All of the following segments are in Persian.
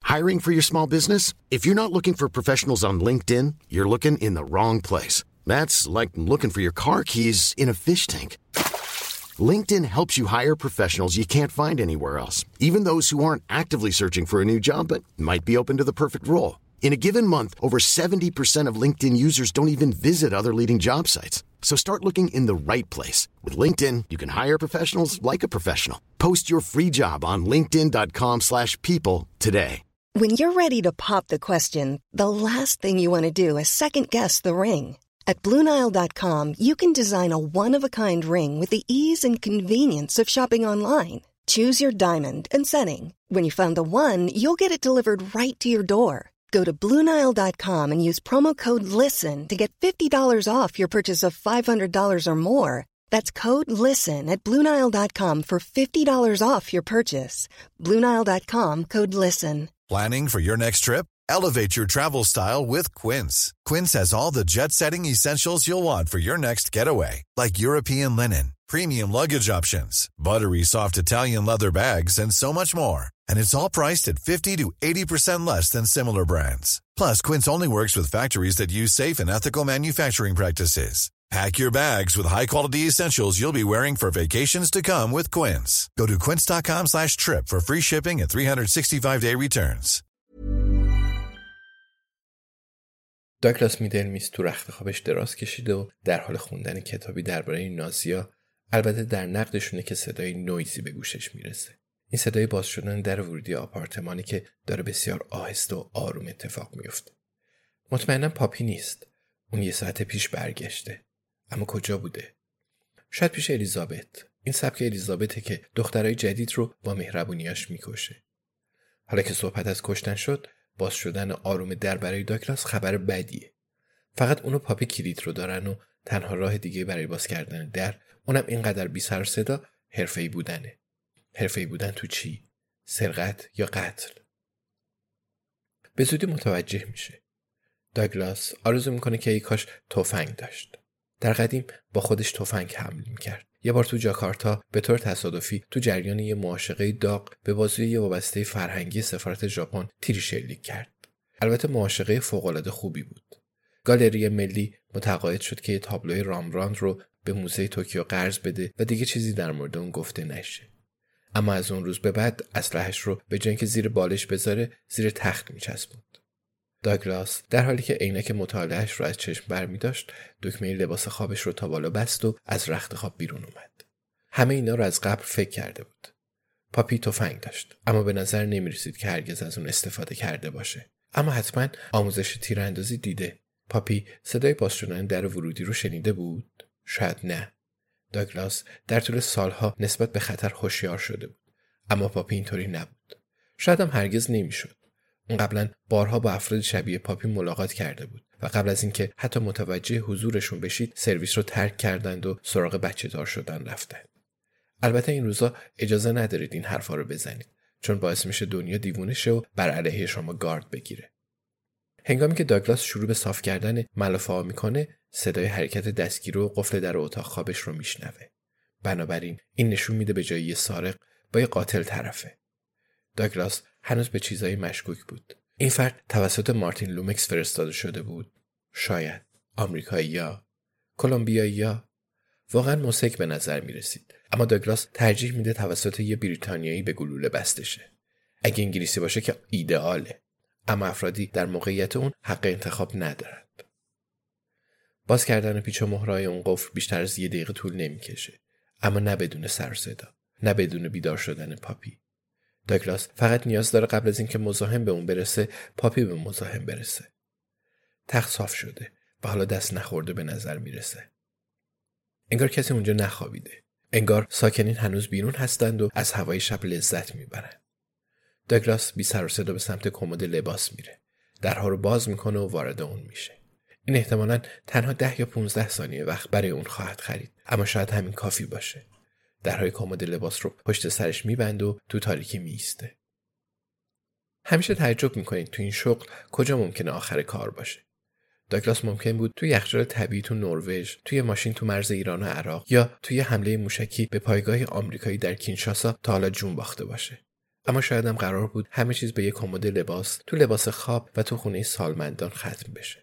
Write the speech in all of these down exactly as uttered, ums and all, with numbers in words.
Hiring for your small business? If you're not looking for professionals on LinkedIn, you're looking in the wrong place. That's like looking for your car keys in a fish tank. LinkedIn helps you hire professionals you can't find anywhere else, even those who aren't actively searching for a new job but might be open to the perfect role. In a given month, over seventy percent of LinkedIn users don't even visit other leading job sites. So start looking in the right place. With LinkedIn, you can hire professionals like a professional. Post your free job on linkedin.com slash people today. When you're ready to pop the question, the last thing you want to do is second-guess the ring. At Blue Nile dot com, you can design a one-of-a-kind ring with the ease and convenience of shopping online. Choose your diamond and setting. When you find the one, you'll get it delivered right to your door. Go to Blue Nile dot com and use promo code LISTEN to get fifty dollars off your purchase of five hundred dollars or more. That's code LISTEN at Blue Nile dot com for fifty dollars off your purchase. Blue Nile dot com, code LISTEN. Planning for your next trip? Elevate your travel style with Quince. Quince has all the jet-setting essentials you'll want for your next getaway, like European linen, premium luggage options, buttery soft Italian leather bags, and so much more. And it's all priced at fifty to eighty percent less than similar brands. Plus, Quince only works with factories that use safe and ethical manufacturing practices. Pack your bags with high-quality essentials you'll be wearing for vacations to come with Quince. Go to quince.com slash trip for free shipping and three sixty-five day returns. داگلاس میدلمیس تو رخت خوابش دراز کشیده و در حال خوندن کتابی درباره نازی‌ها، البته در نقدشونه که صدای نویزی به گوشش میرسه. این صدای باز شدن در ورودی آپارتمانی که داره بسیار آهسته و آروم اتفاق میفته. مطمئنم پاپی نیست. اون یه ساعت پیش برگشته. اما کجا بوده؟ شاید پیش الیزابت. این سبک الیزابته که دخترای جدید رو با مهربونیاش میکشه. حالا که صحبت از کشتن شد، باز شدن آروم در برای داگلاس خبر بدیه. فقط اونو پاپی کلید رو دارن و تنها راه دیگه برای باز کردن در، اونم اینقدر بی سر و صدا، حرفه‌ای بودنه. حرفه‌ای بودن تو چی؟ سرقت یا قتل؟ به زودی متوجه میشه. داگلاس آرزو میکنه که ای کاش تفنگ داشت. در قدیم با خودش تفنگ حمل میکرد. یه بار تو جاکارتا به طور تصادفی تو جریان یه معاشقه داغ به بازوی یه وابسته فرهنگی سفارت ژاپن تیری شلیک کرد. البته معاشقه فوق‌العاده خوبی بود. گالری ملی متقاعد شد که یه تابلوی رامبراند رو به موزه توکیو قرض بده و دیگه چیزی در مورد اون گفته نشه. اما از اون روز به بعد اسلحه‌اش رو به جای اینکه زیر بالش بذاره، زیر تخت میچسبوند. داگلاس در حالی که عینک مطالعه‌اش رو از چشم برمی داشت، دکمه لباس خوابش رو تا بالا بست و از رخت خواب بیرون اومد. همه اینا رو از قبل فکر کرده بود. پاپی تفنگ داشت، اما به نظر نمی رسید که هرگز از اون استفاده کرده باشه. اما حتما آموزش تیراندازی دیده. پاپی صدای باز شدن در ورودی رو شنیده بود؟ شاید نه. داگلاس در طول سالها نسبت به خطر هوشیار شده بود، اما پاپی اینطوری نبود. شاید هم هرگز نمیشد. اون قبلا بارها با افراد شبیه پاپی ملاقات کرده بود و قبل از اینکه حتی متوجه حضورشون بشید، سرویس رو ترک کردند و سراغ بچه دار شدن رفتند. البته این روزا اجازه ندارید این حرفا رو بزنید، چون باعث میشه دنیا دیوونه شه و بر علیه شما گارد بگیره. هنگامی که داگلاس شروع به صاف کردن ملافه ها میکنه، صدای حرکت دستگیر و قفل در اتاق خوابش رو میشنوه. بنابراین این نشون میده به جای یه سارق با یه قاتل طرفه. داگلاس هنوز به چیزایی مشکوک بود. این فرد توسط مارتین لومکس فرستاده شده بود. شاید آمریکایی‌ها، کلمبیایی‌ها. واقعا موسیقی به نظر می رسید. اما داگلاس ترجیح میده توسط یه بریتانیایی به گلوله بسته شه. اگه انگلیسی باشه که ایدئاله. اما افرادی در موقعیت اون حق انتخاب ندارند. باز کردن پیچ و مهرهای اون قفل بیشتر از یه دقیقه طول نمیکشه. اما نه بدون سر و صدا، نه بدون بیدار شدن پاپی. داگلاس فقط نیاز داره قبل از اینکه مزاحم به اون برسه، پاپی به مزاحم برسه. تخت صاف شده و حالا دست نخورده به نظر میرسه. انگار کسی اونجا نخوابیده. انگار ساکنین هنوز بیرون هستند و از هوای شب لذت میبرند. داگلاس بی سر و صدا به سمت کمد لباس میره. درها رو باز میکنه و وارد اون میشه. این احتمالاً تنها ده یا پونزده ثانیه وقت برای اون خواهد خرید، اما شاید همین کافی باشه. درهای کمد لباس رو پشت سرش میبند و تو تاریکی میسته. همیشه تعجب میکنید تو این شغل کجا ممکنه آخر کار باشه. داگلاس ممکن بود توی یخچال طبیعی تو نروژ، توی ماشین تو مرز ایران و عراق، یا توی حمله موشکی به پایگاه آمریکایی در کینشاسا تا حالا جون باخته باشه. اما شاید هم قرار بود همه چیز به یک کمد لباس تو لباس خواب و تو خونه سالمندان ختم بشه.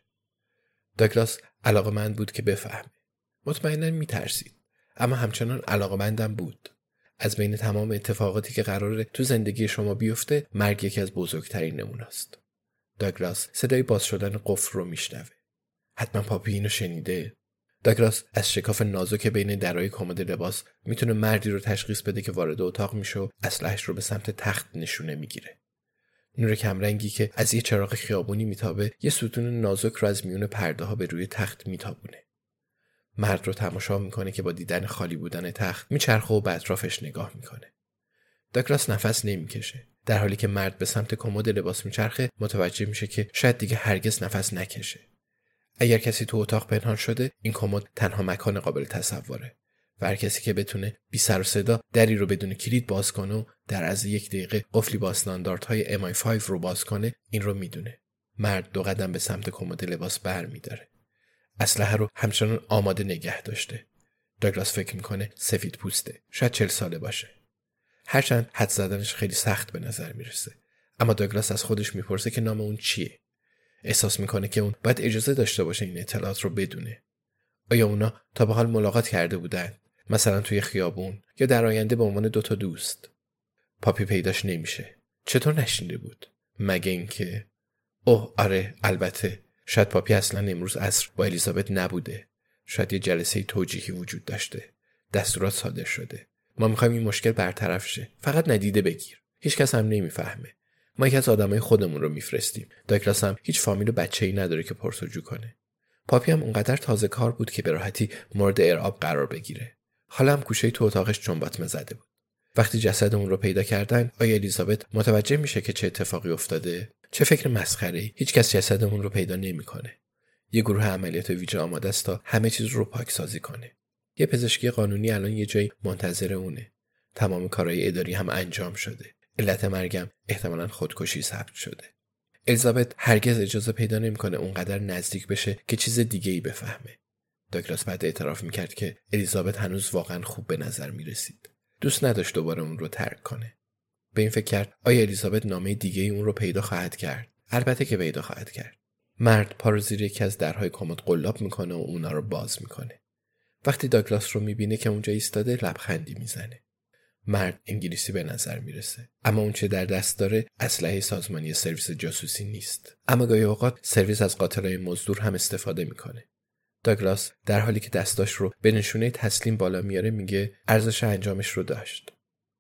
داگلاس علاقه‌مند بود که بفهمه. مطمئناً میترسید، اما همچنان علاقه‌مندم بود. از بین تمام اتفاقاتی که قراره تو زندگی شما بیفته، مرگ یکی از بزرگترین نموناست. داگلاس صدای باز شدن قفل رو میشنوه. حتما پاپی اینو شنیده. داگلاس از شکاف نازک بین درای کمد لباس میتونه مردی رو تشخیص بده که وارد اتاق میشه و اسلحه‌اش رو به سمت تخت نشونه میگیره. نور کمرنگی که از یه چراغ خیابونی میتابه یه ستون نازک رو از میون پرده ها به روی تخت میتابونه. مرد رو تماشا میکنه که با دیدن خالی بودن تخت میچرخه و به اطرافش نگاه میکنه. داگلاس نفس نمیکشه. در حالی که مرد به سمت کمد لباس میچرخه متوجه میشه که شاید دیگه هرگز نفس نکشه. اگر کسی تو اتاق پنهان شده، این کمد تنها مکان قابل تصوره و هر کسی که بتونه بی سر و صدا دری رو بدون کلید باز کنه و در عرض یک دقیقه قفلی با استانداردهای ام آی پنج رو باز کنه، این رو میدونه. مرد دو قدم به سمت کمد لباس برمی‌داره. اسلحه رو همچنان آماده نگه داشته. داگلاس فکر میکنه سفید پوسته، شاید چهل ساله باشه. هرچند حد زدنش خیلی سخت به نظر میرسه، اما داگلاس از خودش میپرسه که نام اون چیه. احساس میکنه که اون باید اجازه داشته باشه این اطلاعات رو بدونه. آیا اونا تا به حال ملاقات کرده بودن؟ مثلا توی خیابون یا در آینده به عنوان دوتا دوست؟ پاپی پیداش نمیشه. چطور نشینده بود؟ مگه اینکه اوه آره البته شاید پاپی اصلا امروز عصر با الیزابت نبوده. شاید یه جلسه توجیهی وجود داشته. دستورات صادر شده. ما میخوایم این مشکل برطرف شه. فقط ندیده بگیر. هیچ کس هم نمیفهمه. ما یکی از آدمای خودمون رو میفرستیم. داگلاس هم هیچ فامیل و بچه‌ای نداره که پرسجو کنه. پاپی هم اونقدر تازه کار بود که به راحتی مورد ارعاب قرار بگیره. حالا هم گوشه تو اتاقش چنباتمه زده بود. وقتی جسد اون رو پیدا کردن، آیا الیزابت متوجه میشه که چه اتفاقی افتاده؟ چه فکر مسخره‌ای. هیچ کس جسد اون رو پیدا نمیکنه. یه گروه عملیات ویژه آماده است تا همه چیز رو پاکسازی کنه. یه پزشکی قانونی الان یه جایی منتظر اونه. تمام کارهای اداری هم انجام شده. علت مرگم احتمالاً خودکشی ثبت شده. الیزابت هرگز اجازه پیدا نمیکنه اونقدر نزدیک بشه که چیز دیگه‌ای بفهمه. داگلاس بعد اعتراف میکرد که الیزابت هنوز واقعاً خوب به نظر میرسید. دوست نداشت دوباره اون رو ترک کنه. به این فکر کرد آیا الیزابت نامه دیگه‌ای اون رو پیدا خواهد کرد؟ البته که پیدا خواهد کرد. مرد پا رو زیر یکی از درهای کمد قلاب میکنه و اونا رو باز میکنه. وقتی داگلاس رو میبینه که اونجا ایستاده لبخندی میزنه. مرد انگلیسی به نظر میرسه، اما اون چه در دست داره اسلحه سازمانی سرویس جاسوسی نیست. اما گاهی اوقات سرویس از قاتلای مزدور هم استفاده میکنه. داگلاس در حالی که دستاش رو به نشونه تسلیم بالا میاره میگه ارزش انجامش رو داشت.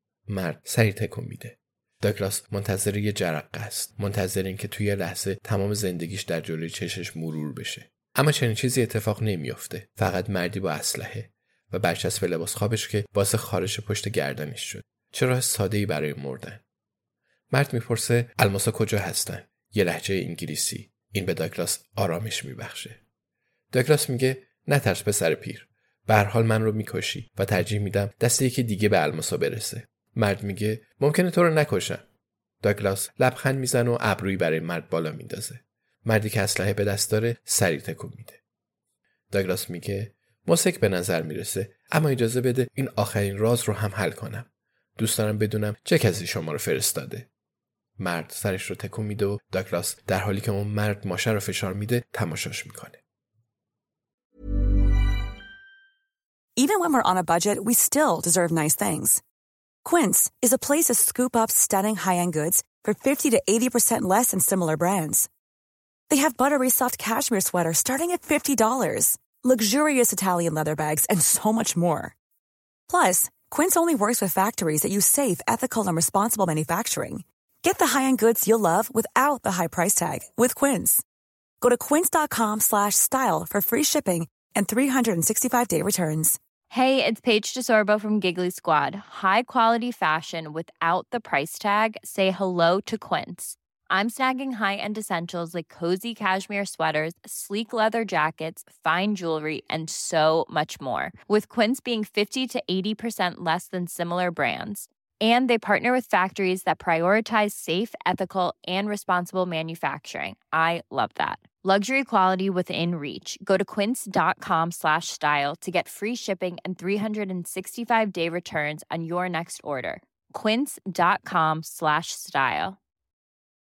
مرد سری تکون میده. داگلاس منتظر یه جرقه است، منتظر این که توی لحظه تمام زندگیش در جلوی چشش مرور بشه. اما چنین چیزی اتفاق نمیافته. فقط مردی با اسلحه و برچسب لباس خوابش که باعث خارش پشت گردنش شد. چه راه ساده‌ای برای مردن. مرد میپرسه الماسا کجا هستن؟ یه لهجه انگلیسی. این به داگلاس آرامش میبخشه. داگلاس میگه نترس پسر پیر. به هر حال من رو میکشی و ترجیح میدم دست یکی دیگه به الماسا برسه. مرد میگه ممکنه تو رو نکشم. داگلاس لبخند میزنه و ابرویی برای مرد بالا میندازه. مردی که اسلحه به دست داره سری تکون میده. داگلاس میگه موسیک به نظر میرسه، اما اجازه بده این آخرین راز رو هم حل کنم. دوست دارم بدونم چه کسی شما رو فرستاده. مرد سرش رو تکون میده و داگلاس در حالی که اون مرد ماشه رو فشار میده تماشاش میکنه. Even when we're on a budget, we still deserve nice things. Quince is a place to scoop up stunning high-end goods for fifty to eighty percent less than similar brands. They have buttery soft cashmere sweaters starting at fifty dollars, luxurious Italian leather bags, and so much more. Plus, Quince only works with factories that use safe, ethical, and responsible manufacturing. Get the high-end goods you'll love without the high price tag with Quince. Go to quince.com slash style for free shipping and three sixty-five day returns. Hey, it's Paige DeSorbo from Giggly Squad. High quality fashion without the price tag. Say hello to Quince. I'm snagging high-end essentials like cozy cashmere sweaters, sleek leather jackets, fine jewelry, and so much more. With Quince being fifty to eighty percent less than similar brands. And they partner with factories that prioritize safe, ethical, and responsible manufacturing. I love that. Luxury quality within reach. Go to quince.com slash style to get free shipping and three sixty-five day returns on your next order. quince.com slash style.